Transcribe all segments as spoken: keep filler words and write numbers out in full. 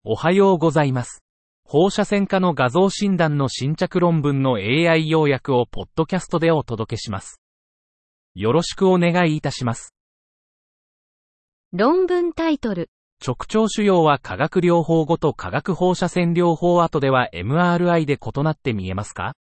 おはようございます。放射線科の画像診断の新着論文の エーアイ 要約をポッドキャストでお届けします。よろしくお願いいたします。 論文タイトル。 直腸腫瘍は化学療法後と化学放射線療法後では エムアールアイ で異なって見えますか？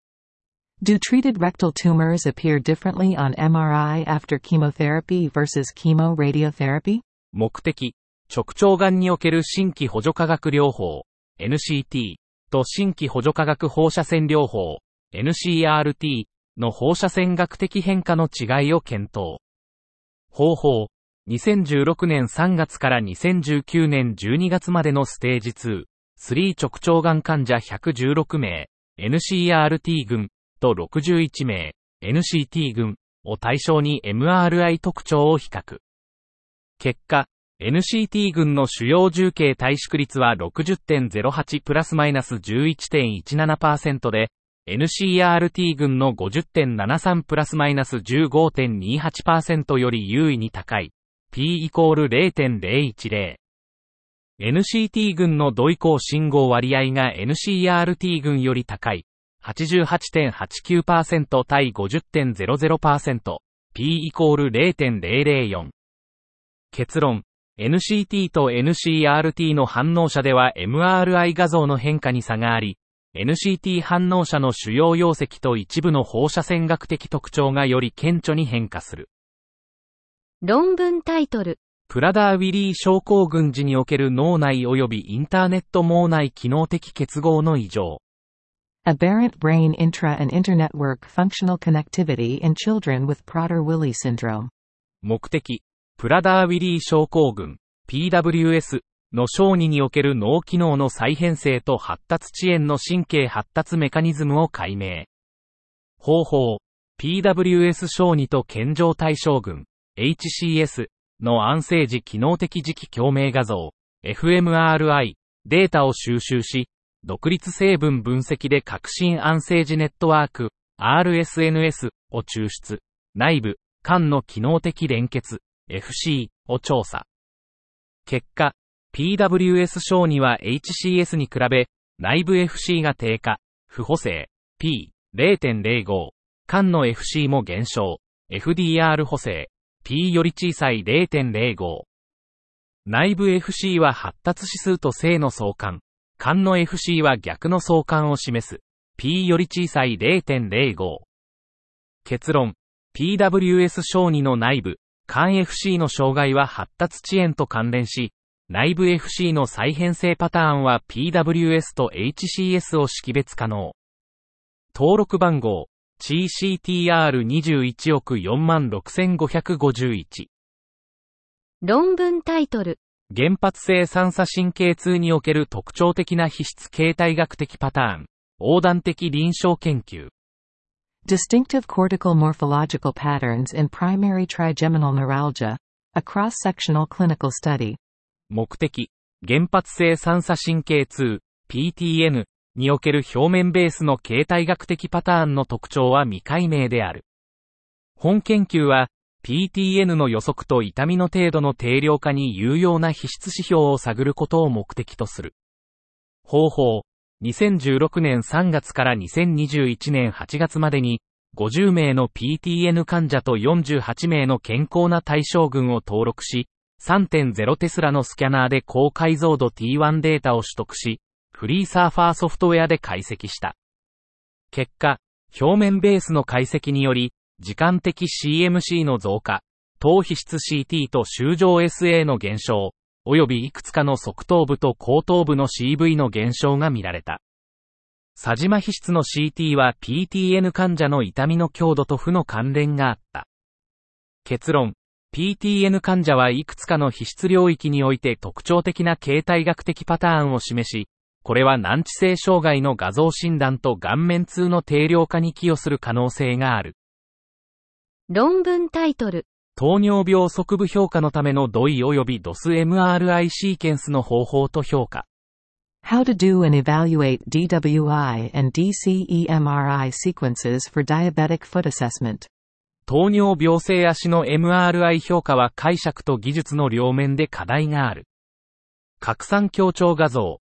Do treated rectal tumors appear differently on エムアールアイ after chemotherapy versus chemoradiotherapy? 目的、直腸がんにおける新規補助化学療法、エヌシーティー と新規補助化学放射線療法、エヌシーアールティー の放射線学的変化の違いを検討。方法、にせんじゅうろくねんさんがつからにせんじゅうきゅうねんじゅうにがつまでのステージに、さん直腸がん患者ひゃくじゅうろくめい、エヌシーアールティー 群とろくじゅういちめい、エヌシーティー 群を対象に エムアールアイ 特徴を比較。結果、エヌシーティー 群の主要重形退縮率は ろくじゅってんゼロはちプラスマイナス じゅういってんいちななパーセント で、エヌシーアールティー 群の ごじゅってんななさんプラスマイナス じゅうごてんにはちパーセント より優位に高い。P イコール ゼロてんゼロいちゼロ。エヌシーティー 群の度移行信号割合が エヌシーアールティー 群より高い。はちじゅうはちてんはちきゅうパーセント 対 ごじゅってんゼロゼロパーセント。P イコール ゼロてんゼロゼロよん。結論。エヌシーティー と エヌシーアールティー の反応者では エムアールアイ 画像の変化に差があり、エヌシーティー 反応者の主要溶石と一部の放射線学的特徴がより顕著に変化する。 論文タイトル。 プラダーウィリー症候群時における脳内及びインターネット網内機能的結合の異常。 Aberrant brain intra and internetwork functional connectivity in children with Prader-Willi syndrome. 目的。プラダーウィリー症候群 ピーダブリューエス の小児における脳機能の再編成と発達遅延の神経発達メカニズムを解明。方法 ピーダブリューエス 小児と健常対象群 エイチシーエス の安静時機能的磁気共鳴画像 エフエムアールアイ データを収集し、独立成分分析で革新安静時ネットワーク アールエスエヌエス を抽出。内部、間の機能的連結エフシー を調査。結果、ピーダブリューエス 小児は エイチシーエス に比べ、内部 エフシー が低下、不補正、P、ゼロてんゼロご、間の エフシー も減少、エフディーアール 補正、P より小さい ゼロてんゼロご。内部 エフシー は発達指数と正の相関、間の エフシー は逆の相関を示す、P より小さい ゼロてんゼロご。結論、ピーダブリューエス 小児の内部、間 エフシー の障害は発達遅延と関連し、内部 エフシー の再編成パターンは ピーダブリューエス と エイチシーエス を識別可能。登録番号 シーシーティーアールにじゅういちおくよんまんろくせんごひゃくごじゅういち。 論文タイトル。 原発性三叉神経痛における特徴的な皮質形態学的パターン、横断的臨床研究。 Distinctive cortical morphological patterns in primary trigeminal neuralgia, a cross-sectional clinical study. 目的、原発性三叉神経痛、ピーティーエヌ における表面ベースの形態学的パターンの特徴は未解明である。本研究は、ピーティーエヌ の予測と痛みの程度の定量化に有用な皮質指標を探ることを目的とする。方法、にせんじゅうろくねんさんがつからにせんにじゅういちねんはちがつまでにごじゅうめいの ピーティーエヌ 患者とよんじゅうはちめいの健康な対象群を登録し、さんてんゼロ テスラのスキャナーで高解像度 ティーワン データを取得し、フリーサーファーソフトウェアで解析した。結果、表面ベースの解析により、時間的 シーエムシー の増加、頭皮質 シーティー と周状 エスエー の減少、およびいくつかの側頭部と後頭部の シーブイ の減少が見られた。左磁麻皮質の シーティー は ピーティーエヌ 患者の痛みの強度と負の関連があった。結論、ピーティーエヌ 患者はいくつかの皮質領域において特徴的な形態学的パターンを示し、これは難治性障害の画像診断と顔面痛の定量化に寄与する可能性がある。 論文タイトル。 糖尿病側部評価のためのドイ及び ドスエムアールアイ シーケンスの方法と評価。 How to do and evaluate ディーダブリューアイ and ディーシーイーエムアールアイ sequences for diabetic foot assessment. 糖尿病性足の エムアールアイ 評価は解釈と技術の両面で課題がある。拡散強調画像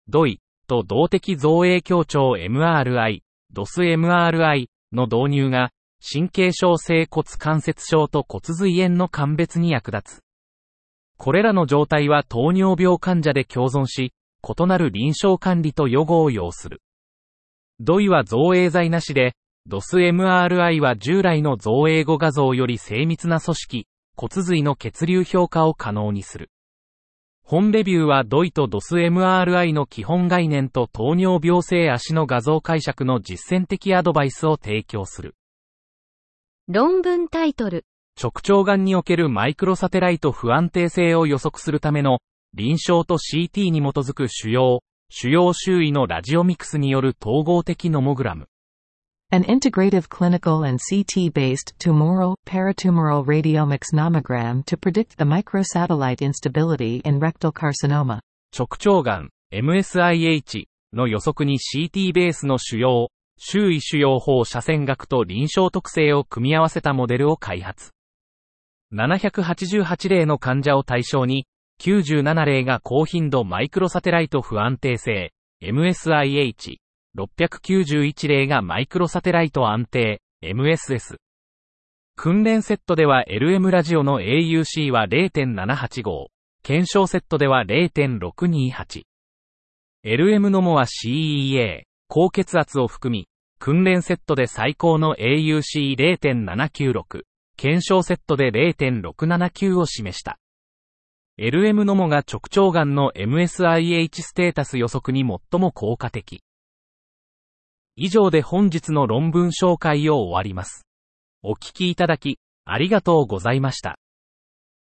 ドイ、と動的造影強調 エムアールアイ、ドスエムアールアイ の導入が、神経症性骨関節症と骨髄炎の鑑別に役立つ。これらの状態は糖尿病患者で共存し、異なる臨床管理と予後を要する。ドイは造影剤なしで、ドスエムアールアイ は従来の造影後画像より精密な組織、骨髄の血流評価を可能にする。本レビューはドイと ドスエムアールアイ の基本概念と糖尿病性足の画像解釈の実践的アドバイスを提供する。 論文タイトル。 直腸がんにおけるマイクロサテライト不安定性を予測するための臨床と シーティー に基づく腫瘍、腫瘍周囲のラジオミクスによる統合的ノモグラム。 An integrative clinical and C T-based tumoral, paratumoral radiomics nomogram to predict the microsatellite instability in rectal carcinoma. 直腸がん、エムエスアイエイチ の予測に シーティー ベースの腫瘍、周囲腫瘍放射線学と臨床特性を組み合わせたモデルを開発。ななひゃくはちじゅうはち例の患者を対象に、きゅうじゅうなな例が高頻度マイクロサテライト不安定性、エムエスアイエイチ、ろっぴゃくきゅうじゅういち例がマイクロサテライト安定、エムエスエス。訓練セットでは エルエム ラジオの エーユーシー は れいてんななはちご、検証セットでは れいてんろくにはち。エルエム ノモは シーイーエー、高血圧を含み、訓練セットで最高の エーユーシーれいてんななきゅうろく、検証セットで れいてんろくななきゅう を示した。エルエム ノモが直腸がんの エムエスアイエイチ ステータス予測に最も効果的。以上で本日の論文紹介を終わります。お聞きいただき、ありがとうございました。